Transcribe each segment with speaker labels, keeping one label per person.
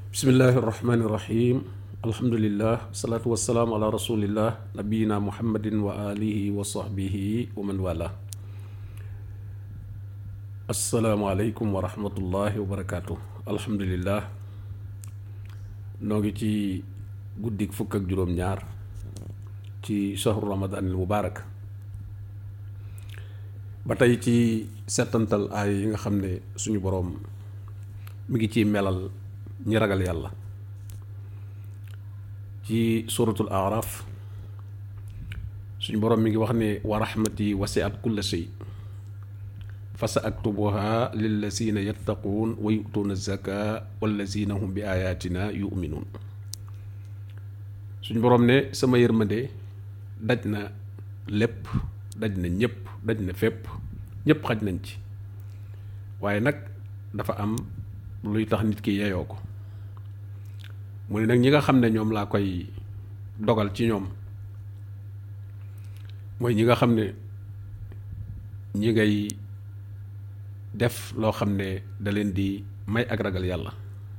Speaker 1: bismillahi irrahmani irrahim alhamdulillah wasalaatu wasalaamu ala rasulillah nabiyina muhammadin wa alihi wa sahbihi wa man wala. asalaamualeykum wa rahmatullahi wa barakaatu. alhamdulillah noo ngi ci guddik fukk ak juróom-ñaar ci shahru ramadanil mubarak ba tey ci settantal aay yi nga xam ne suñu boroom mi ngi ciy melal ñi ragal yàlla ci suratul araf suñu boroom mi ngi wax ne wa rahmati wasi'at kulla shay fa sa aktubuha lillazina yattaquun wa yu'tuuna zaka wallazina hum bi ayatina yu'minuun. suñu boroom ne sama yërmande daj na lépp, daj na ñépp, daj na fépp, ñépp xaj nañ ci, waaye nag dafa am luy tax nit ki yeyoo ko. mu ne nag ñi nga xam ne ñoom laa koy dogal ci ñoom mooy ñi nga xam ne ñi ngay def loo xam ne da leen di may ak ragal yàlla,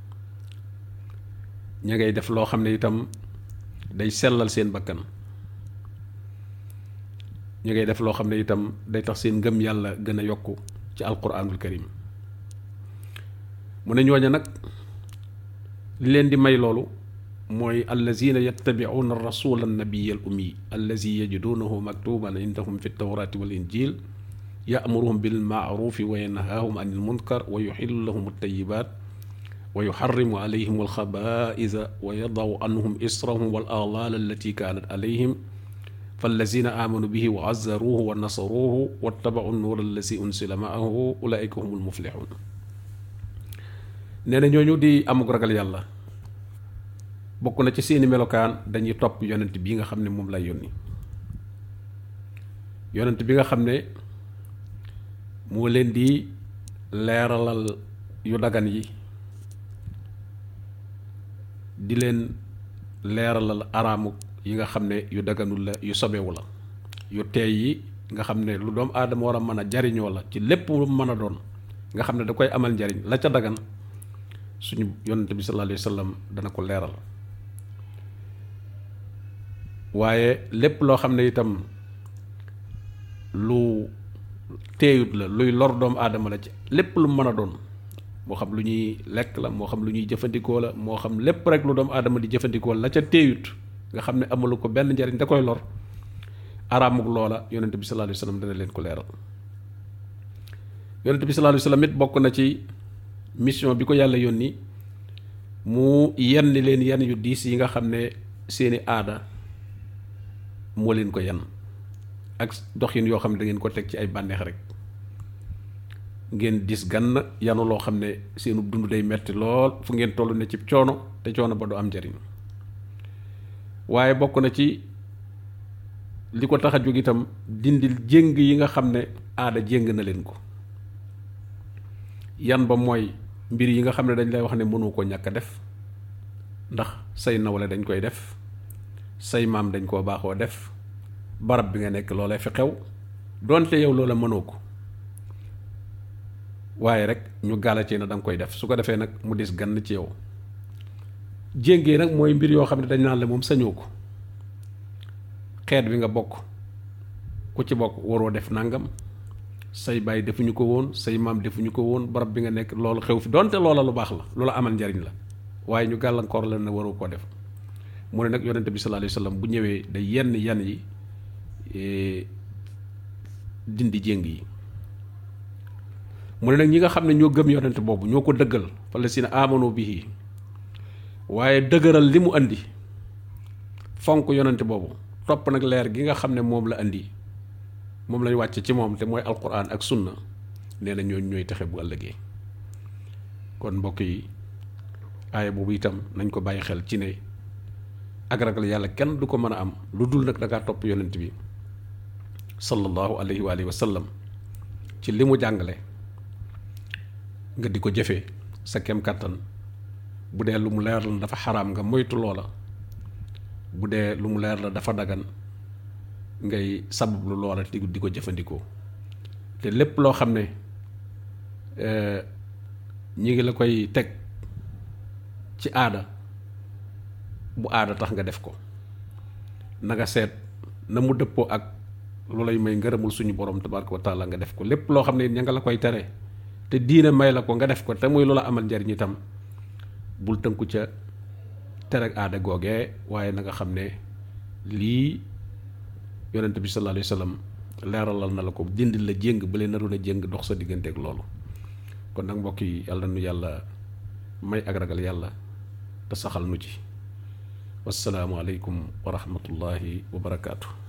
Speaker 1: ñi ngay def loo xam ne itam day sellal seen bakkan, ñi ngay def loo xam ne itam day tax seen ngëm yàlla gën a yokku ci alquranul karim. mu ne ñooña nag li leen di may loolu mooy allazina yattabi'una ar-rasula an-nabiyya al-ummi allazi yajidunahu maktuban indahum fi at-tawrati wal-injil ya'muruhum bil-ma'rufi wa yanhahum 'anil munkar wa yuhillu lahum at-tayyibat wa yuharrimu 'alayhim al-khaba'itha wa yada'u 'anhum israhum wal-aghlala allati kanat 'alayhim fallazina amanu bihi wa 'azzaruhu wa nasaruhu wattaba'u an-nura allazi unsila ma'ahu ulaika humul muflihun. nee na ñooñu di amuk ragal yàlla bokk na ci seeni melokaan dañuy topp yonent bi nga xam ne moom lay yónni, yonent bi nga xam ne moo leen di leeralal yu dagan yi, di leen leeralal araamuk yi nga xam ne yu daganul la, yu sobewu la, yu teey yi nga xam ne lu doomu aadama war a mën a jariñoo la ci lépp lu mën a doon nga xam ne da koy amal njariñ la ca dagan suñu yonent bi sallallahu alayhi wa sallam dana ko leeral. waaye lépp loo xam ne itam lu teeyut la, luy lor doomu aadama la ci lépp lu mën a doon, moo xam lu ñuy lekk la, moo xam lu ñuy jëfandikoo la, moo xam lépp rek lu doomu aadama di jëfandikoo la ca teeyut nga xam ne amalu ko benn njariñ da koy lor, araamuk loola yonent bi sallallahu alayhi wa sallam dana leen ko leeral. yonent bi sallallahu alayhi wa sallam it bokk na ci mission bi ko yàlla yónni mu yenn leen yenn yu diis yi nga xam ne seeni aada moo leen ko yenn, ak doxin yoo xam ne da ngeen ko teg ci ay bànneex rek, ngeen dis gann yanu loo xam ne seenu dund day metti lool, fu ngeen toll ne ci coono te coono ba du am njariñ. waaye bokk na ci li ko tax a jóg itam dindil jéng yi nga xam ne aada jéng na leen ko. yan ba mooy mbir yi nga xam ne dañ lay wax ne mënu ko ñàkk a def ndax say nawle dañ koy def, say maam dañ koo baaxoo def, barab bi nga nekk loolee fi xew doonte yow loola mënoo ko, waaye rek ñu gàlla ci na danga koy def, su ko defee nag mu dis gann ci yow. jéngee nag mooy mbir yoo xam ne dañ naan la moom sañoo ko, xeet bi nga bokk ku ci bokk waroo def nangam, say baay defuñu ko woon, say maam defuñu ko woon, barab bi nga nekk loolu xew fi donte loola lu baax la, loola amal njariñ la, waaye ñu gàllankoor la ne waroo koo def. mu ne nag yonent bi sallallahu alayhi wa sallam bu ñëwee day yenn yan yi dindi jéng yi. mu ne nag ñi nga xam ne ñoo gëm yonent boobu ñoo ko dëggal fallazina amanu bihi, waaye dëgëral li mu andi, fonk yonent boobu, topp nag leer gi nga xam ne moom la andi, moom lañ wàcce ci moom te mooy alquran ak sunna, nee na ñooñu ñooy texe bu ëllëgee. kon mbokk yi aaya boobu itam nañ ko bàyyi xel ci ne ak ragal yàlla kenn du ko mën a am lu dul nag da ngaa topp yonent bi sallallahu alayhi wa alihi wa sallam ci li mu jàngale nga di ko jëfee sa kem kàttan. bu dee lu mu leer la dafa xaraam nga moytu loola, bu dee lu mu leer la dafa dagan ngay sabablu loola di ko jëfandikoo. te lépp loo xam ne ñi ngi la koy teg ci aada bu aada tax nga def ko na nga seet na mu dëppoo ak lu lay may ngërëmul suñu borom tabaraka wa taala nga def ko lépp loo xam ne ña nga la koy tere te diine may la ko nga def ko te muy lu la amal njariñ itam bul tënku ca tere ak aada googee waaye na nga xam ne lii yonent bi sallallahu alayhi wa sallam leeralal na la ko dindil la jéng ba leen naroon a jéng dox sa digganteeg loolu kon nag mbokk yi yàlla nu yàlla may ak ragal yàlla te saxal nu ci wassalaamu aleykum wa rahmatullahi wa barakaatu.